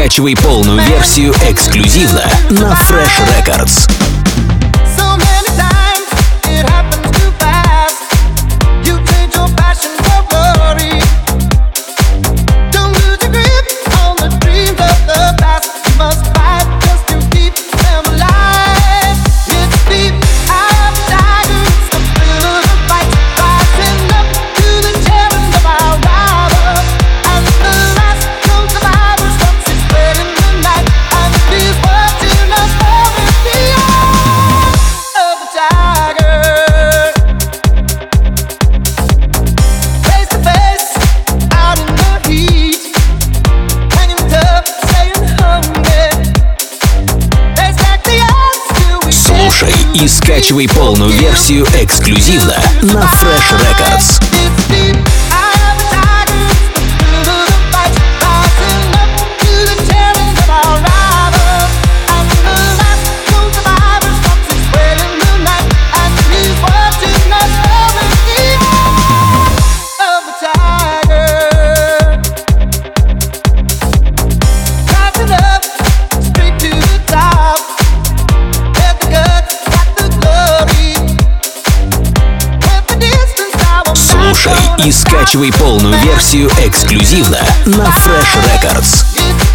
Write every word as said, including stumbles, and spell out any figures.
скачивай полную версию эксклюзивно на Fresh Records. Слушай и скачивай полную версию эксклюзивно на Fresh Records. Слушай и скачивай полную версию эксклюзивно на Fresh Records.